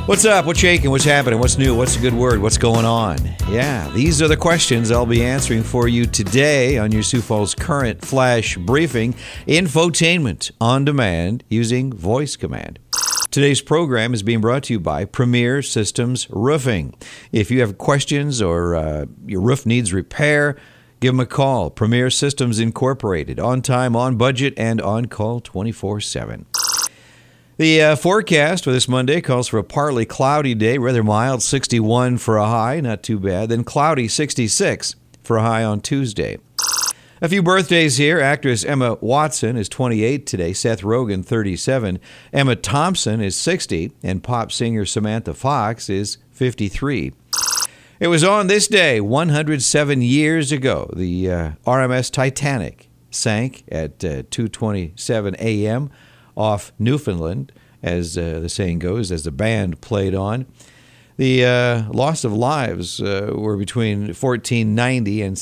What's up? What's shaking? What's happening? What's new? What's a good word? What's going on? Yeah, these are the questions I'll be answering for you today on your Sioux Falls Current Flash Briefing, infotainment on demand using voice command. Today's program is being brought to you by Premier Systems Roofing. If you have questions or your roof needs repair, give them a call. Premier Systems Incorporated, on time, on budget, and on call 24/7. The forecast for this Monday calls for a partly cloudy day, rather mild, 61 for a high, not too bad. Then cloudy, 66 for a high on Tuesday. A few birthdays here. Actress Emma Watson is 28 today. Seth Rogen, 37. Emma Thompson is 60. And pop singer Samantha Fox is 53. It was on this day, 107 years ago, the RMS Titanic sank at 2:27 a.m., off Newfoundland, as the saying goes, as the band played on. The loss of lives were between 1490 and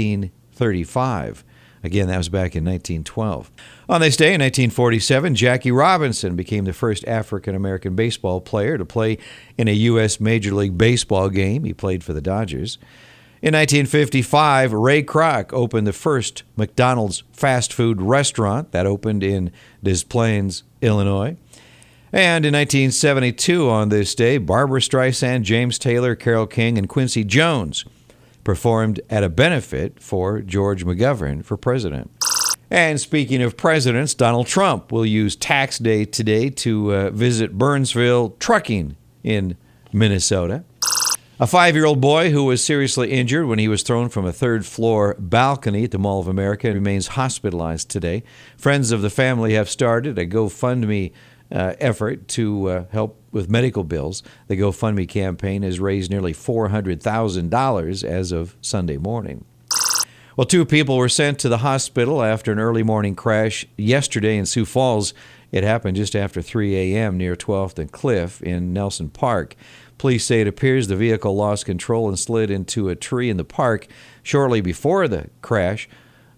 1635. Again, that was back in 1912. On this day in 1947, Jackie Robinson became the first African-American baseball player to play in a U.S. Major League Baseball game. He played for the Dodgers. In 1955, Ray Kroc opened the first McDonald's fast food restaurant. That opened in Des Plaines, Illinois. And in 1972, on this day, Barbra Streisand, James Taylor, Carole King, and Quincy Jones performed at a benefit for George McGovern for president. And speaking of presidents, Donald Trump will use tax day today to visit Burnsville Trucking in Minnesota. A 5-year-old boy who was seriously injured when he was thrown from a third-floor balcony at the Mall of America remains hospitalized today. Friends of the family have started a GoFundMe effort to help with medical bills. The GoFundMe campaign has raised nearly $400,000 as of Sunday morning. Well, 2 people were sent to the hospital after an early morning crash yesterday in Sioux Falls. It happened just after 3 a.m. near 12th and Cliff in Nelson Park. Police say it appears the vehicle lost control and slid into a tree in the park. Shortly before the crash,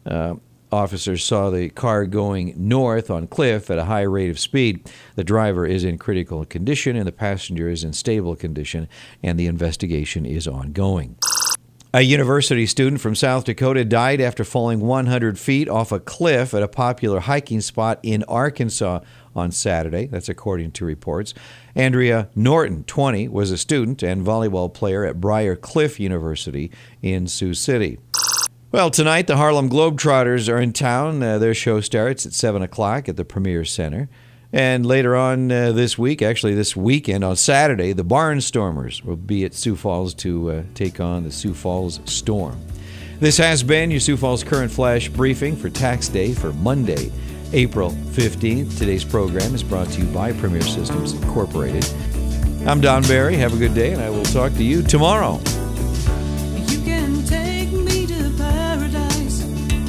officers saw the car going north on Cliff at a high rate of speed. The driver is in critical condition and the passenger is in stable condition, and the investigation is ongoing. A university student from South Dakota died after falling 100 feet off a cliff at a popular hiking spot in Arkansas on Saturday. That's according to reports. Andrea Norton, 20, was a student and volleyball player at Briar Cliff University in Sioux City. Well, tonight the Harlem Globetrotters are in town. Their show starts at 7 o'clock at the Premier Center. And later on this week, actually this weekend, on Saturday, the Barnstormers will be at Sioux Falls to take on the Sioux Falls Storm. This has been your Sioux Falls Current Flash Briefing for Tax Day for Monday, April 15th. Today's program is brought to you by Premier Systems Incorporated. I'm Don Barry. Have a good day, and I will talk to you tomorrow. You can take me to paradise,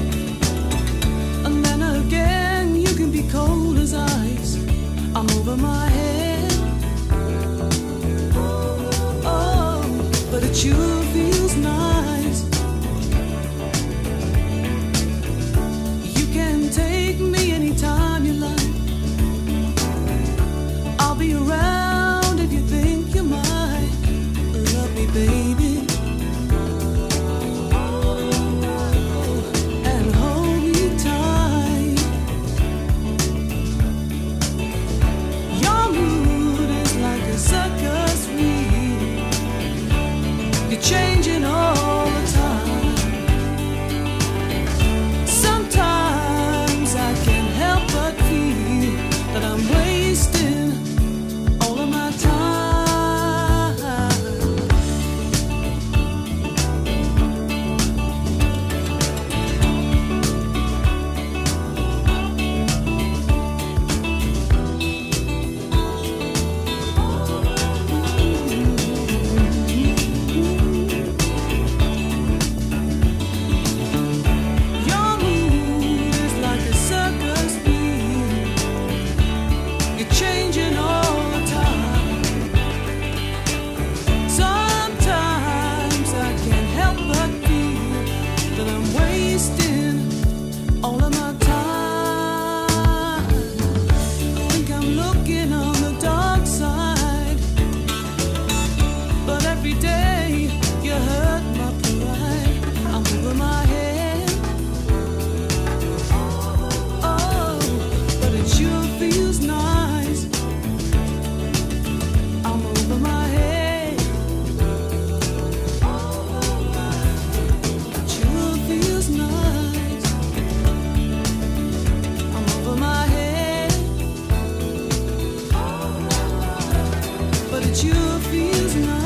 and then again you can be cold as ice. I'm over my head. Oh, but it sure feels nice. You can take me anytime you like. I'll be around if you think you might love me, baby. And hold me tight. Your mood is like a circus wheel. You're changing all the time. Sometimes I can't help but feel that I'm wasting all of my time. Your mood is like a circus wheel. You're changing sure feels nice.